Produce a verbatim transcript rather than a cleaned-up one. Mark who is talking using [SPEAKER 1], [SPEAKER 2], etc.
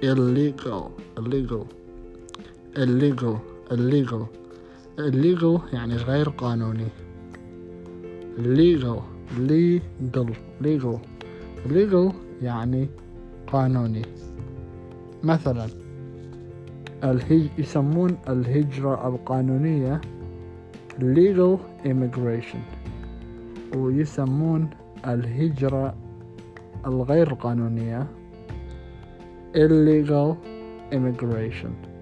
[SPEAKER 1] illegal illegal illegal illegal illegal يعني غير قانوني. legal legal legal legal يعني قانوني. مثلا الهج... يسمون الهجرة القانونية legal immigration، ويسمون الهجرة الغير قانونية illegal immigration.